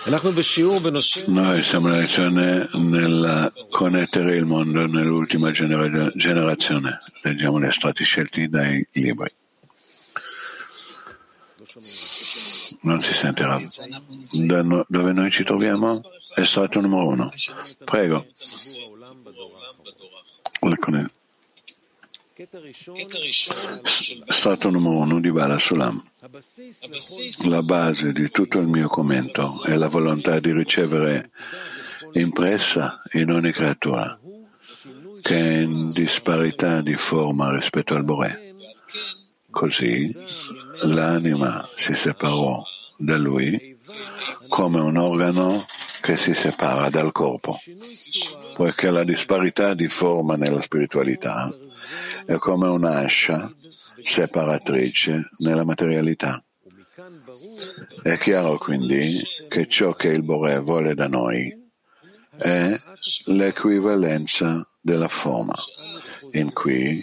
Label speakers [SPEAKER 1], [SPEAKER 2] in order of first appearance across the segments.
[SPEAKER 1] Noi siamo in lezione nel connettere il mondo nell'ultima generazione. Leggiamo gli estratti scelti dai libri. Non si sente, Rav. Dove noi ci troviamo? Estratto numero 1. Prego. Estratto numero 1 di Bala Sulam. La base di tutto il mio commento è la volontà di ricevere impressa in ogni creatura che è in disparità di forma rispetto al Boré. Così l'anima si separò da lui come un organo che si separa dal corpo, poiché la disparità di forma nella spiritualità è come un'ascia separatrice nella materialità. È chiaro quindi che ciò che il Boré vuole da noi è l'equivalenza della forma, in cui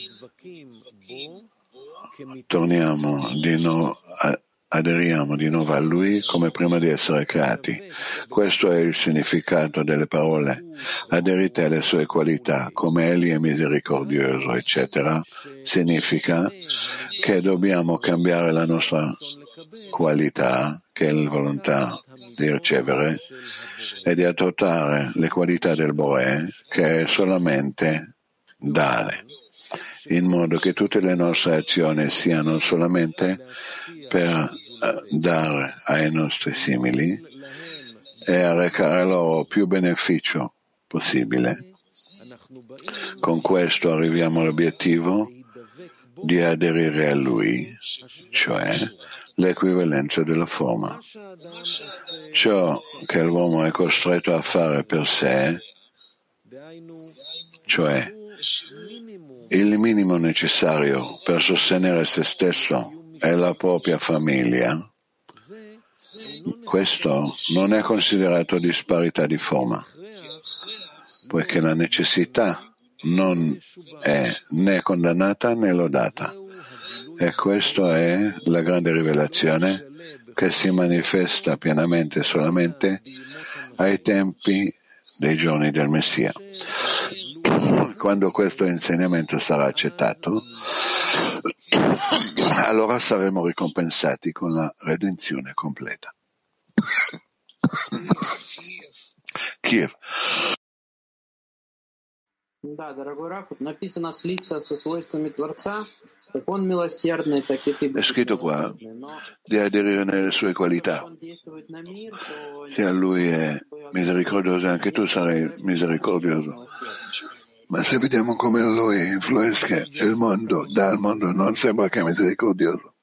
[SPEAKER 1] aderiamo di nuovo a Lui come prima di essere creati. Questo è il significato delle parole aderite alle sue qualità, come Egli è misericordioso, eccetera. Significa che dobbiamo cambiare la nostra qualità, che è la volontà di ricevere, e di adottare le qualità del Boré, che è solamente dare, in modo che tutte le nostre azioni siano solamente per dare ai nostri simili e a recare loro più beneficio possibile. Con questo arriviamo all'obiettivo di aderire a Lui, cioè l'equivalenza della forma. Ciò che l'uomo è costretto a fare per sé, cioè il minimo necessario per sostenere se stesso e la propria famiglia, questo non è considerato disparità di forma, poiché la necessità non è né condannata né lodata. E questa è la grande rivelazione che si manifesta pienamente solamente ai tempi dei giorni del Messia. Quando questo insegnamento sarà accettato, allora saremo ricompensati con la redenzione completa. Kiev.
[SPEAKER 2] Да, дорогой Раф, написано слиться со свойствами Творца, как он милосердный, так и ты.
[SPEAKER 1] È scritto qua di aderire nelle sue qualità. Se a lui è misericordioso, anche tu sarai misericordioso. Ma se vediamo come lui influisce il mondo, dal mondo, non sembra che è misericordioso.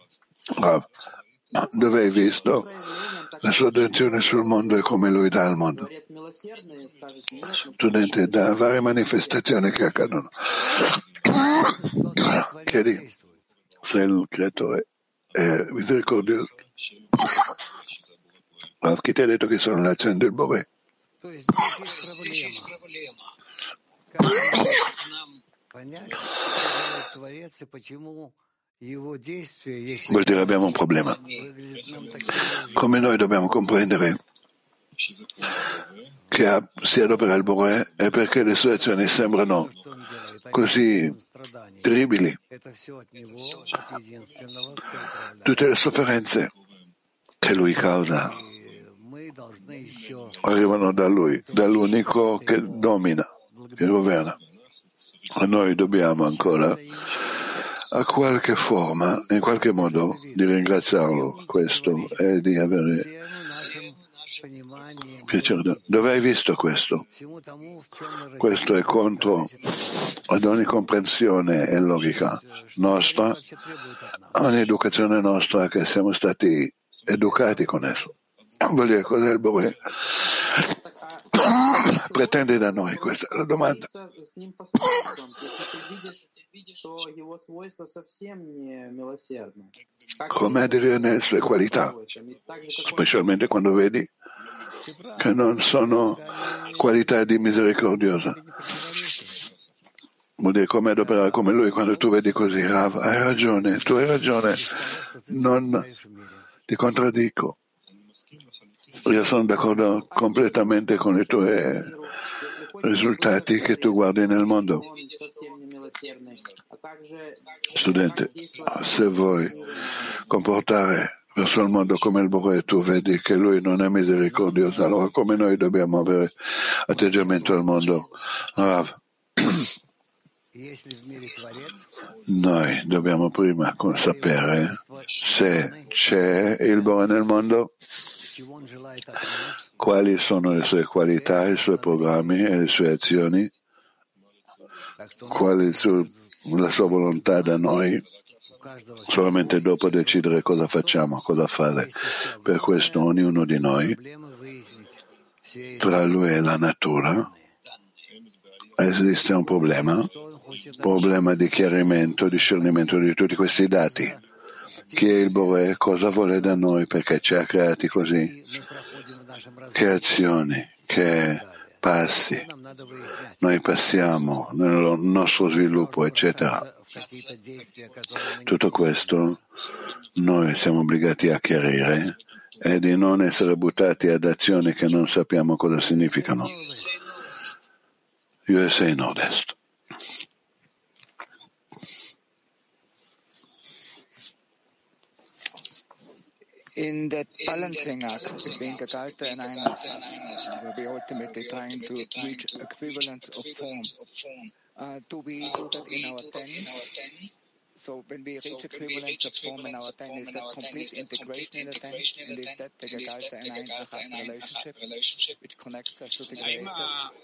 [SPEAKER 1] Dove hai visto la sua attenzione sul mondo e come lui dà al mondo? Studente, da varie manifestazioni che accadono. Chiedi se il creatore è misericordioso. Chi ti ha detto che sono l'azione del Boré? Vuol dire abbiamo un problema. Come noi dobbiamo comprendere che si adopera il Boré è perché le sue azioni sembrano così terribili. Tutte le sofferenze che lui causa arrivano da lui, dall'unico che domina, che governa. E noi dobbiamo ancora a qualche forma, in qualche modo, di ringraziarlo questo e di avere piacere. Dove hai visto questo? Questo è contro ad ogni comprensione e logica nostra, ogni educazione nostra che siamo stati educati con esso. Vuol dire cos'è il Boré? Pretende da noi, questa è la domanda. Come aderire nelle sue qualità, specialmente quando vedi che non sono qualità di misericordiosa. Vuol dire come adoperare come lui. Quando tu vedi così, Rav, hai ragione, non ti contraddico. Io sono d'accordo completamente con i tuoi risultati che tu guardi nel mondo. Studente, se vuoi comportare verso il mondo come il Bore, tu vedi che lui non è misericordioso, allora come noi dobbiamo avere atteggiamento al mondo? Rav, noi dobbiamo prima sapere se c'è il Bore nel mondo, quali sono le sue qualità, i suoi programmi e le sue azioni, qual è la sua volontà da noi, solamente dopo decidere cosa facciamo, cosa fare. Per questo ognuno di noi, tra lui e la natura, esiste un problema di chiarimento, discernimento di tutti questi dati. Chi è il Bore, cosa vuole da noi, perché ci ha creati così, che azioni, che passi noi passiamo nel nostro sviluppo, eccetera. Tutto questo noi siamo obbligati a chiarire e di non essere buttati ad azioni che non sappiamo cosa significano. USA Nord-Est.
[SPEAKER 3] In that balancing act between Gegalta and Einheit, where we ultimately trying to reach equivalence of form, do we do that in our 10? So when we reach equivalence of form in our 10, is that complete integration in the 10? And is that the Gegalta and Einheit relationship, which connects us to the Creator?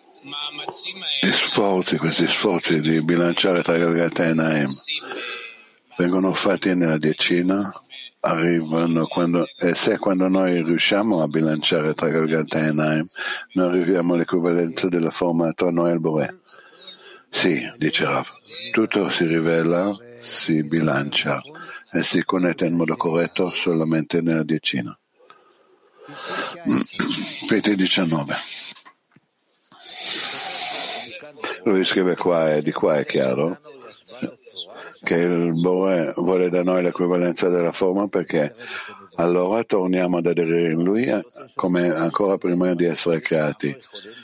[SPEAKER 1] Questi sforzi di bilanciare tra Gegalta e Naim vengono fatti nella decina, arrivano quando noi riusciamo a bilanciare tra Gegalta e Naim, noi arriviamo all'equivalenza della forma tra noi e il Bore. Sì, dice Rav, tutto si rivela, si bilancia e si connette in modo corretto solamente nella decina. PT 19. Lui scrive qua e di qua è chiaro che il Bore vuole da noi l'equivalenza della forma, perché allora torniamo ad aderire in lui come ancora prima di essere creati.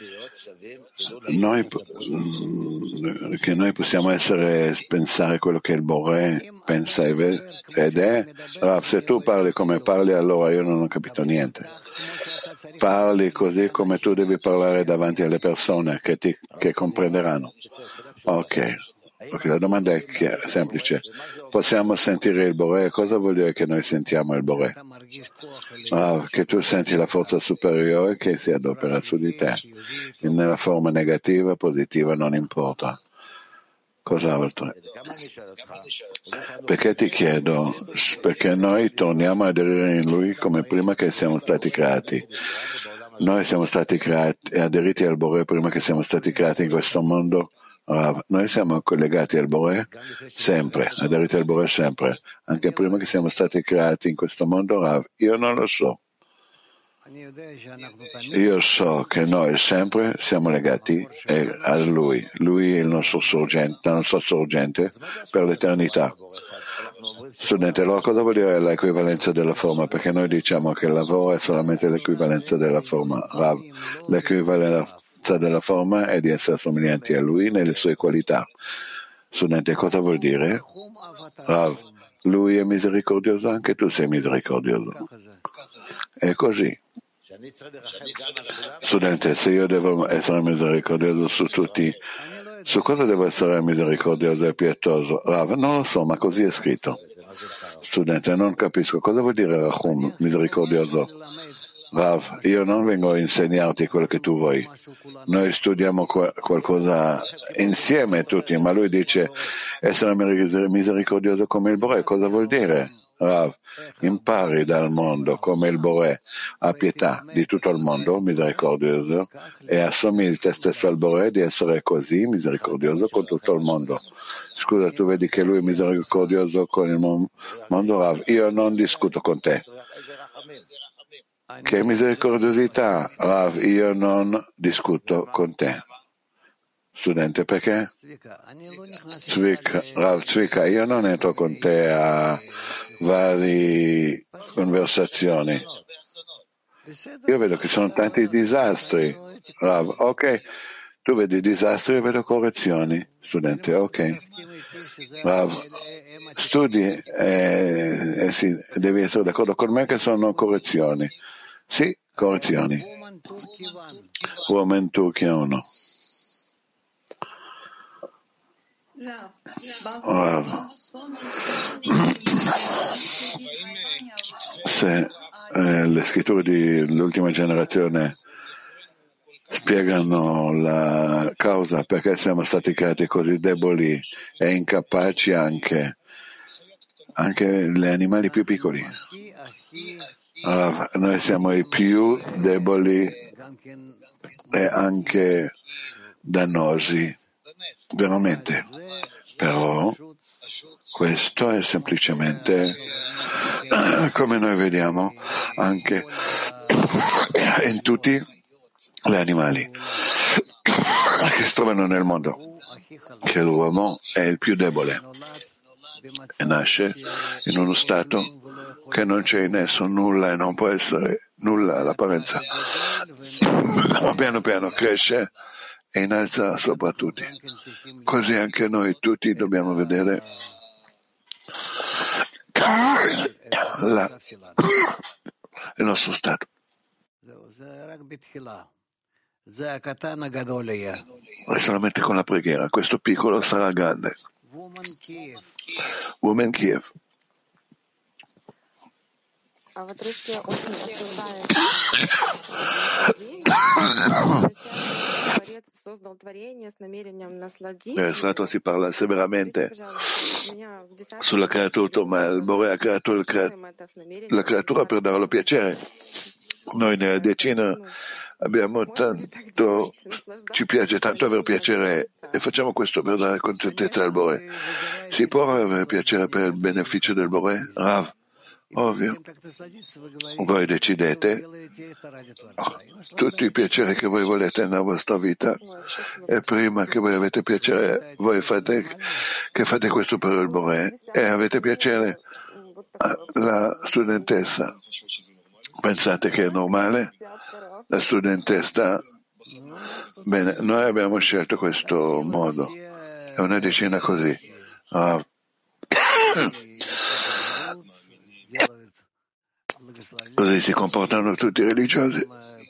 [SPEAKER 1] Noi possiamo pensare quello che il Bore pensa ed è. Rav, se tu parli come parli, allora io non ho capito niente. Parli così come tu devi parlare davanti alle persone che comprenderanno. Ok, la domanda è semplice. Possiamo sentire il Bore? Cosa vuol dire che noi sentiamo il Bore? Che tu senti la forza superiore che si adopera su di te. Nella forma negativa, positiva, non importa. Cos'altro? Perché ti chiedo? Perché noi torniamo ad aderire in Lui come prima che siamo stati creati. Noi siamo stati creati, aderiti al Bore prima che siamo stati creati in questo mondo. Noi siamo collegati al Bore sempre, aderiti al Bore sempre, anche prima che siamo stati creati in questo mondo. Rav, io non lo so. Io so che noi sempre siamo legati a Lui. Lui è il nostro sorgente, la nostra sorgente per l'eternità. Studente, allora cosa vuol dire l'equivalenza della forma? Perché noi diciamo che il lavoro è solamente l'equivalenza della forma. Rav, l'equivalenza della forma è di essere somiglianti a Lui nelle sue qualità. Studente, cosa vuol dire? Rav, Lui è misericordioso, anche tu sei misericordioso. È così. Studente, se io devo essere misericordioso su tutti, su cosa devo essere misericordioso e pietoso? Rav, non lo so, ma così è scritto. Studente, non capisco. Cosa vuol dire Rachum, misericordioso? Rav, io non vengo a insegnarti quello che tu vuoi. Noi studiamo qualcosa insieme tutti, ma lui dice essere misericordioso come il Bore. Cosa vuol dire? Rav, impari dal mondo come il Bore ha pietà di tutto il mondo, misericordioso, e assomigli te stesso al Bore di essere così misericordioso con tutto il mondo. Scusa, tu vedi che lui è misericordioso con il mondo, Rav? Io non discuto con te. Che misericordiosità, Rav, io non discuto con te. Studente, perché? Rav Zvika, io non entro con te a varie conversazioni. Io vedo che sono tanti disastri. Rav, ok, tu vedi disastri, io vedo correzioni. Studente, ok. Rav, studi sì, devi essere d'accordo con me che sono correzioni. Sì, correzioni. Woman Turchia 1. Rav, se le scritture dell'ultima generazione spiegano la causa perché siamo stati creati così deboli e incapaci anche gli animali più piccoli. Allora, noi siamo i più deboli e anche dannosi, veramente. Però questo è semplicemente come noi vediamo anche in tutti gli animali che si trovano nel mondo, che l'uomo è il più debole e nasce in uno stato che non c'è in esso nulla e non può essere nulla all'apparenza. Piano piano cresce e innalza sopra tutti. Così anche noi tutti dobbiamo vedere il nostro stato. E solamente con la preghiera questo piccolo sarà grande. Woman Kiev.
[SPEAKER 4] А вот если очень осуждаем Творец создал творение с намерением насладиться.
[SPEAKER 1] Nel Stato si parla severamente sulla creatura, ma il Bore ha creato la creatura per darlo piacere. Noi nella decina abbiamo tanto, ci piace tanto avere piacere e facciamo questo per dare contentezza al Bore. Si può avere piacere per il beneficio del Bore? Rav, ovvio. Voi decidete tutti i piaceri che voi volete nella vostra vita e prima che voi avete piacere, voi fate questo per il Bore e avete piacere. La studentessa, pensate che è normale? La studentessa, bene, noi abbiamo scelto questo modo, è una decina così. Così si comportano tutti i religiosi.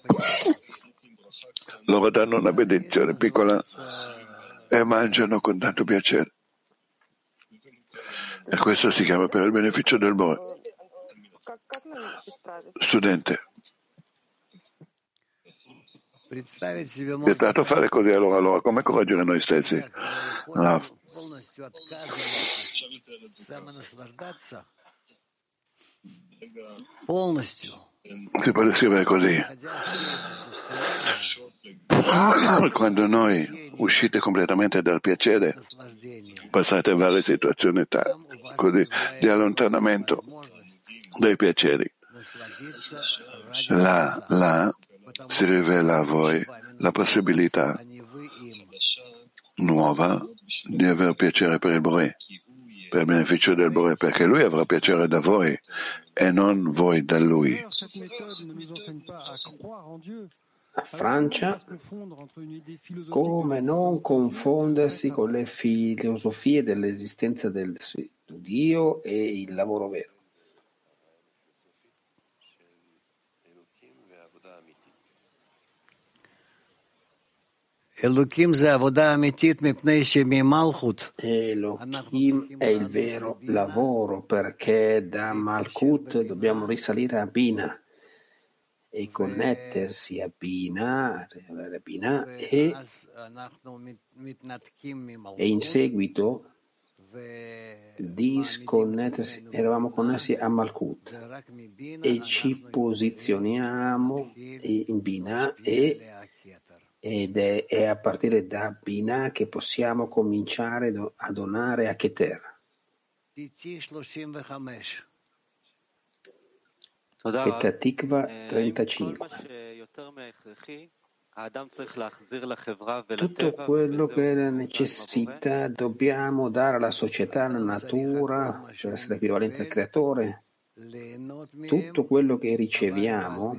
[SPEAKER 1] Loro danno una benedizione piccola e mangiano con tanto piacere. E questo si chiama per il beneficio del Bore. Studente, vietato fare così, allora come correggere noi stessi? Si può descrivere così. Quando noi uscite completamente dal piacere, passate varie situazioni così di allontanamento dai piaceri. Là si rivela a voi la possibilità nuova di avere piacere per il Bore, per il beneficio del Bore, perché lui avrà piacere da voi e non voi da lui.
[SPEAKER 2] A Francia, come non confondersi con le filosofie dell'esistenza del Dio e il lavoro vero. Elohim è il vero lavoro perché da Malkut dobbiamo risalire a Bina e connettersi a Bina e in seguito disconnettersi, eravamo connessi a Malkut e ci posizioniamo in Bina ed è a partire da Bina che possiamo cominciare a donare a Keter. Petah Tikva 35. Tutto quello che è la necessità dobbiamo dare alla società, alla natura, per essere equivalente al creatore. tutto quello che riceviamo,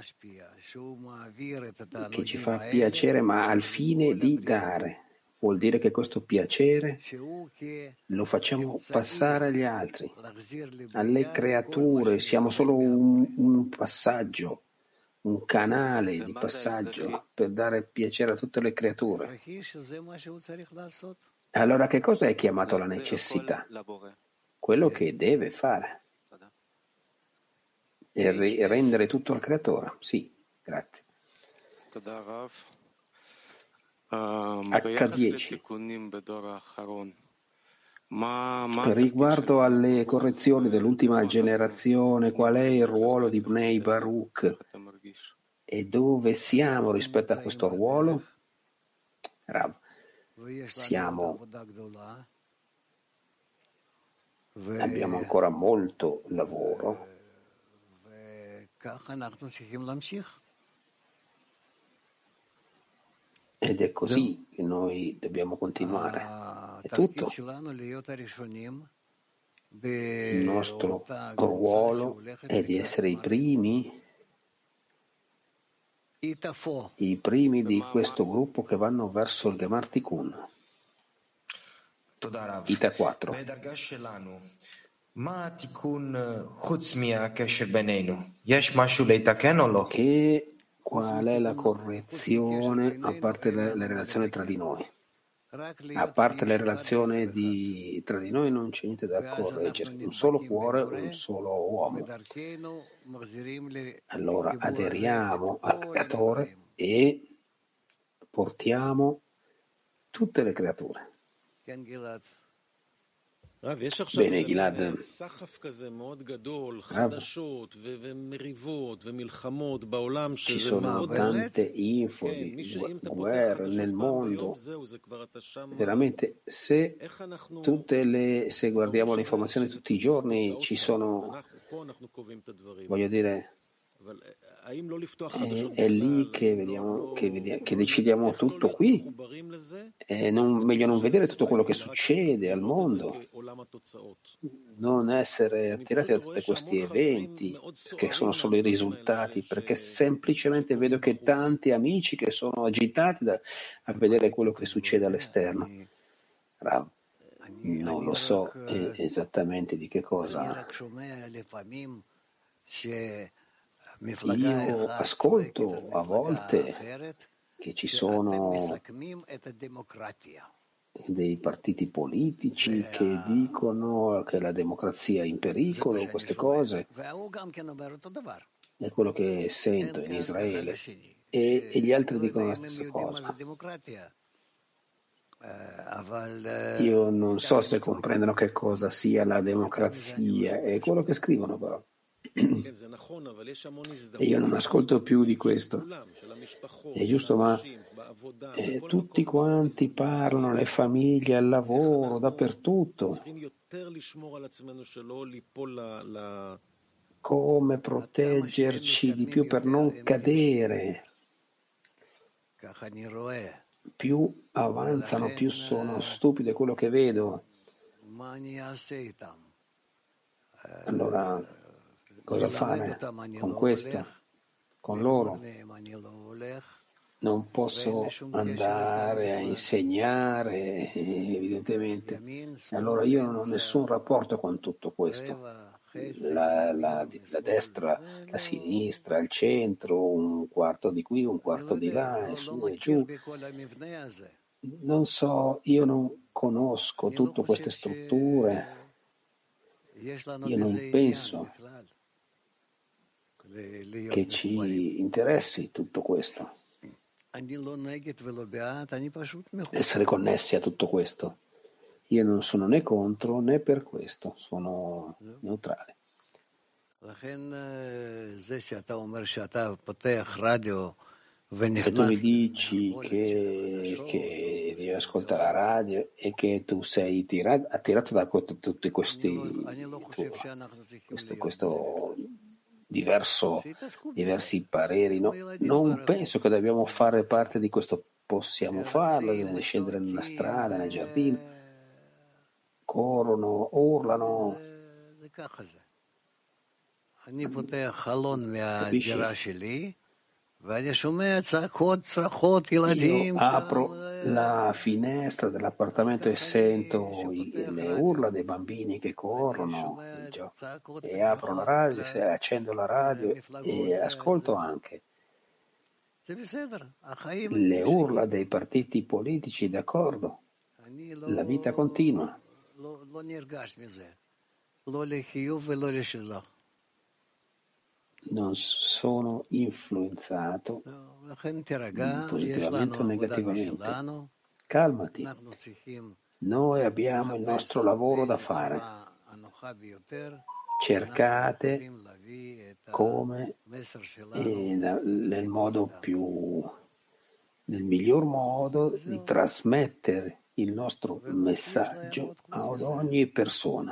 [SPEAKER 2] che ci fa piacere, ma al fine di dare. Vuol dire che questo piacere lo facciamo passare agli altri, alle creature, siamo solo un passaggio, un canale di passaggio per dare piacere a tutte le creature. Allora che cosa è chiamato la necessità? Quello che deve fare. E rendere tutto al creatore. Sì, grazie. H10. Riguardo alle correzioni dell'ultima generazione, qual è il ruolo di Bnei Baruch e dove siamo rispetto a questo ruolo? Rav, abbiamo ancora molto lavoro ed è così che noi dobbiamo continuare. È tutto. Il nostro ruolo è di essere i primi di questo gruppo che vanno verso il Gemar Tikkun. Ita 4. Qual è la correzione a parte la relazione tra di noi? A parte la relazione tra di noi non c'è niente da correggere, un solo cuore, un solo uomo. Allora aderiamo al creatore e portiamo tutte le creature. Bene, Gilad. Ci sono tante info di guerre nel mondo. Veramente, se guardiamo le informazioni tutti i giorni, ci sono, voglio dire, è lì che vediamo, che decidiamo tutto qui. Meglio non vedere tutto quello che succede al mondo, non essere attirati da tutti questi eventi che sono solo i risultati, perché semplicemente vedo che tanti amici che sono agitati a vedere quello che succede all'esterno. Non lo so esattamente di che cosa. Io ascolto a volte che ci sono dei partiti politici che dicono che la democrazia è in pericolo, queste cose. È quello che sento in Israele. E gli altri dicono la stessa cosa. Io non so se comprendono che cosa sia la democrazia, è quello che scrivono però. E io non ascolto più di questo. È giusto, ma tutti quanti parlano, le famiglie, al lavoro, dappertutto. Come proteggerci di più per non cadere. Più avanzano, più sono stupide quello che vedo. Allora, cosa fare con questo? Con loro? Non posso andare a insegnare, evidentemente. Allora io non ho nessun rapporto con tutto questo. La destra, la sinistra, il centro, un quarto di qui, un quarto di là, e su e giù. Non so, io non conosco tutte queste strutture. Io non penso che ci interessi tutto questo. Essere connessi a tutto questo. Io non sono né contro né per questo, sono neutrale. Se tu mi dici che devi ascoltare la radio e che tu sei attirato da tutti questi questo diversi pareri, no? Non penso che dobbiamo fare parte di questo, possiamo farlo, scendere nella strada, nel giardino, corrono, urlano. Capisci? Io apro la finestra dell'appartamento e sento le urla dei bambini che corrono e apro la radio, accendo la radio e ascolto anche le urla dei partiti politici, d'accordo? La vita continua. Non sono influenzato positivamente o negativamente. Calmati. Noi abbiamo il nostro lavoro da fare. Cercate come nel miglior modo di trasmettere il nostro messaggio ad ogni persona.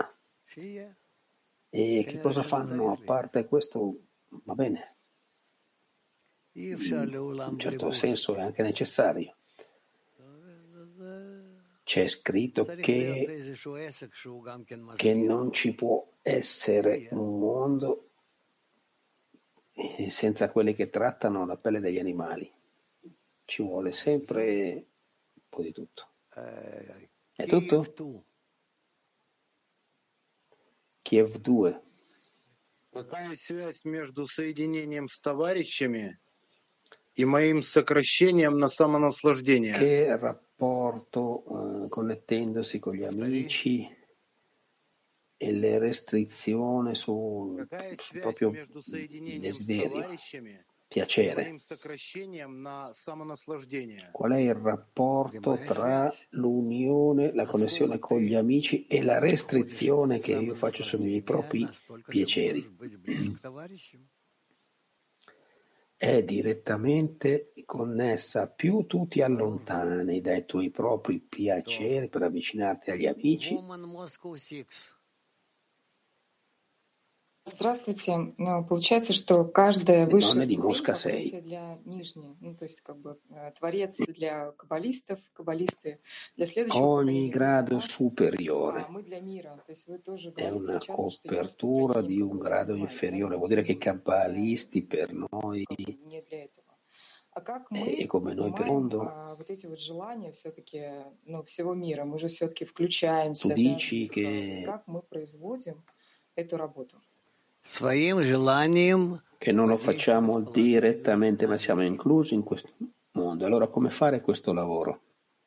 [SPEAKER 2] E che cosa fanno a parte questo? Va bene, in un certo senso è anche necessario. C'è scritto che non ci può essere un mondo senza quelli che trattano la pelle degli animali. Ci vuole sempre un po' di tutto. È tutto? Kiev 2.
[SPEAKER 5] Какая связь между соединением с товарищами и моим сокращением на самонаслаждение?
[SPEAKER 2] Che rapporto connettendosi con gli amici e le restrizioni sul proprio desiderio, piacere. Qual è il rapporto tra l'unione, la connessione con gli amici e la restrizione che io faccio sui miei propri piaceri? È direttamente connessa. Più tu ti allontani dai tuoi propri piaceri per avvicinarti agli amici.
[SPEAKER 6] Здравствуйте. Получается, что каждое высшее
[SPEAKER 2] Mosca
[SPEAKER 6] ступень для нижней, то есть как бы творец для каббалистов, каббалисты для следующего
[SPEAKER 2] Ogni grado superiore
[SPEAKER 6] мы для мира. То есть вы тоже
[SPEAKER 2] è
[SPEAKER 6] говорите
[SPEAKER 2] una
[SPEAKER 6] часто, что
[SPEAKER 2] copertura di un grado inferiore, vuol dire che i kabbalisti per noi
[SPEAKER 6] не для этого. А как мы
[SPEAKER 2] e come noi per il mondo,
[SPEAKER 6] вот эти вот желания все-таки, всего мира, мы же все-таки включаемся,
[SPEAKER 2] tu dici che
[SPEAKER 6] как мы производим эту работу?
[SPEAKER 2] Che non lo facciamo direttamente, ma siamo inclusi in questo mondo. Allora, come fare questo lavoro?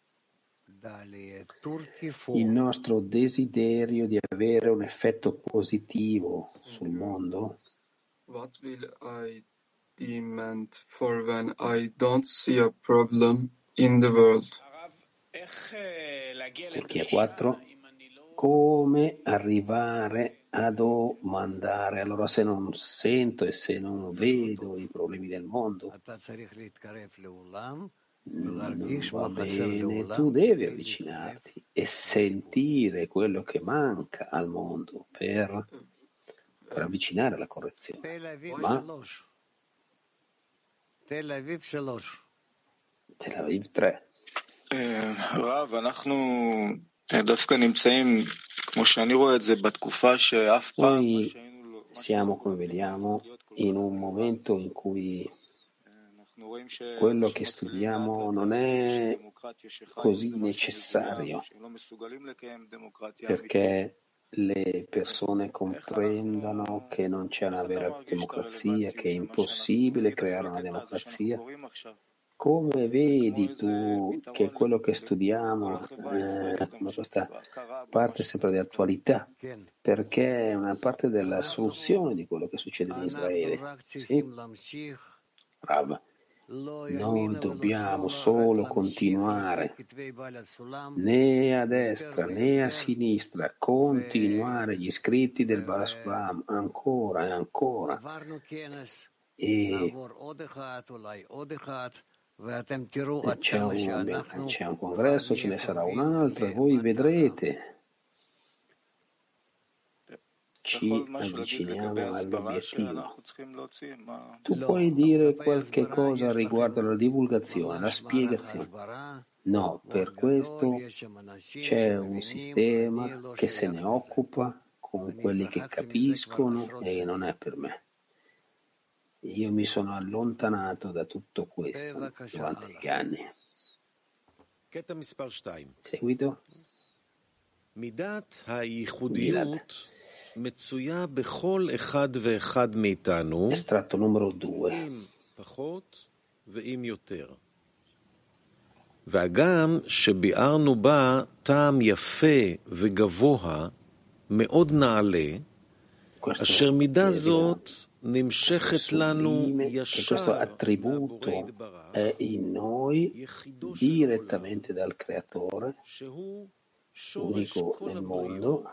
[SPEAKER 2] Il nostro desiderio di avere un effetto positivo sul mondo.
[SPEAKER 7] What will I demand for when I don't see a problem in the world?
[SPEAKER 2] Perché 4. Come arrivare a domandare? Allora, se non sento e se non vedo i problemi del mondo, non va bene. Tu devi avvicinarti e sentire quello che manca al mondo per avvicinare la correzione. Ma Tel Aviv 3.
[SPEAKER 8] Rav, אנחנו דווקא נמצאים, כמו שאני רואה את זה, בתקופה שאף פעם
[SPEAKER 2] siamo, come vediamo, in un momento in cui quello che studiamo non è così necessario, perché le persone comprendano che non c'è una vera democrazia, che è impossibile creare una democrazia. Come vedi tu che quello che studiamo questa parte sempre di attualità, perché è una parte della soluzione di quello che succede in Israele? Sì? Rav, noi dobbiamo solo continuare, né a destra né a sinistra, continuare gli scritti del Baal Sulam ancora e ancora. E c'è un congresso, ce ne sarà un altro e voi vedrete, ci avviciniamo all'obiettivo. Tu puoi dire qualche cosa riguardo alla divulgazione, alla spiegazione? No, per questo c'è un sistema che se ne occupa con quelli che capiscono e non è per me. Io mi sono allontanato da tutto questo durante gli anni. Seguito?
[SPEAKER 9] מידת הייחודיות מצויה בכל אחד ואחד מאיתנו,
[SPEAKER 2] Estratto numero 2.
[SPEAKER 9] עם פחות ועם יותר. והגם שביארנו בה טעם יפה וגבוה מאוד נעלה, אשר מידה זאת נמשכת לנו ישר
[SPEAKER 2] attributo è in noi direttamente dal Creatore, unico nel mondo,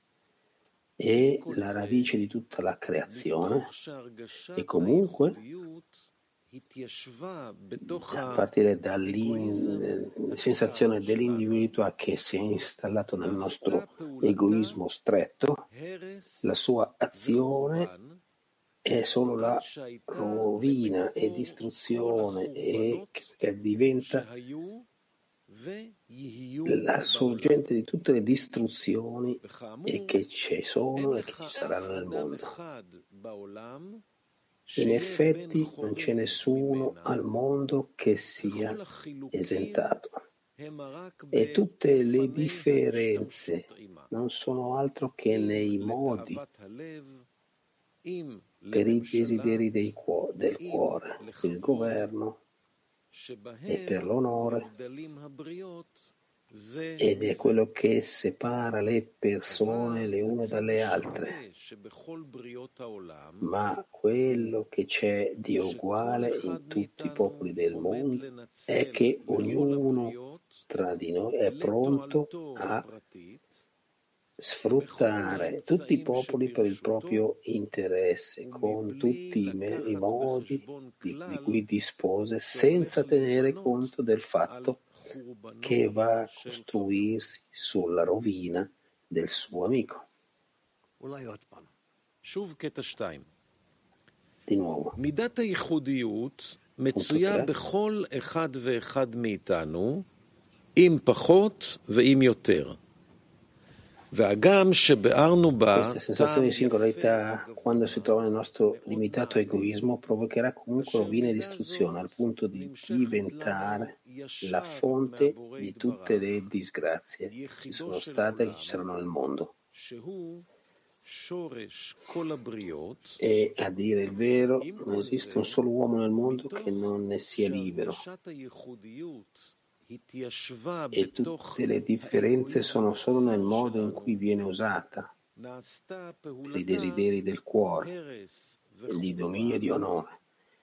[SPEAKER 2] e la radice di tutta la creazione, e comunque a partire dalla sensazione dell'individualità che si è installato nel nostro egoismo stretto, la sua azione è solo la rovina e distruzione, e che diventa la sorgente di tutte le distruzioni e che ci sono e che ci saranno nel mondo. In effetti non c'è nessuno al mondo che sia esentato, e tutte le differenze non sono altro che nei modi, per i desideri del cuore, per il governo e per l'onore, ed è quello che separa le persone le une dalle altre. Ma quello che c'è di uguale in tutti i popoli del mondo è che ognuno tra di noi è pronto a sfruttare tutti i popoli per il proprio interesse, con tutti i modi di cui dispose, senza tenere conto del fatto che va a costruirsi sulla rovina del suo amico. Di nuovo.
[SPEAKER 9] מידת הייחודיות מצויה בכל אחד ואחד מאיתנו, עם פחות ועם יותר.
[SPEAKER 2] Questa sensazione di singolarità, quando si trova nel nostro limitato egoismo, provocherà comunque rovina e distruzione, al punto di diventare la fonte di tutte le disgrazie che ci sono state e che ci saranno nel mondo. E a dire il vero, non esiste un solo uomo nel mondo che non ne sia libero. E tutte le differenze sono solo nel modo in cui viene usata per i desideri del cuore, di dominio e di onore,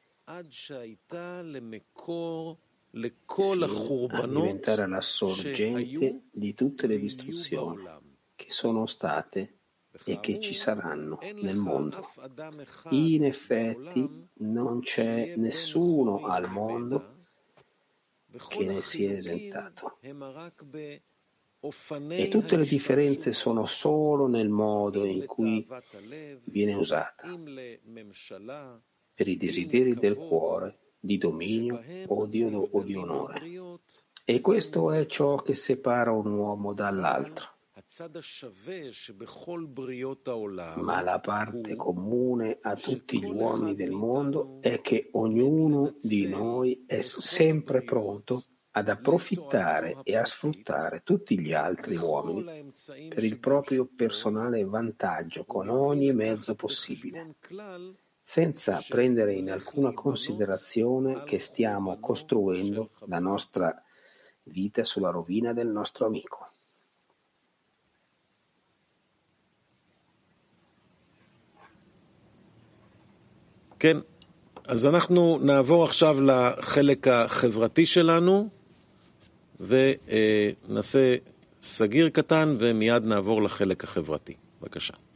[SPEAKER 2] a diventare la sorgente di tutte le distruzioni che sono state e che ci saranno nel mondo. In effetti non c'è nessuno al mondo che ne sia esentato, e tutte le differenze sono solo nel modo in cui viene usata per i desideri del cuore, di dominio o di onore, e questo è ciò che separa un uomo dall'altro. Ma la parte comune a tutti gli uomini del mondo è che ognuno di noi è sempre pronto ad approfittare e a sfruttare tutti gli altri uomini per il proprio personale vantaggio con ogni mezzo possibile, senza prendere in alcuna considerazione che stiamo costruendo la nostra vita sulla rovina del nostro amico.
[SPEAKER 9] כן, אז אנחנו נעבור עכשיו לחלק החברתי שלנו, ונעשה סגיר קטן ומיד נעבור לחלק החברתי. בבקשה.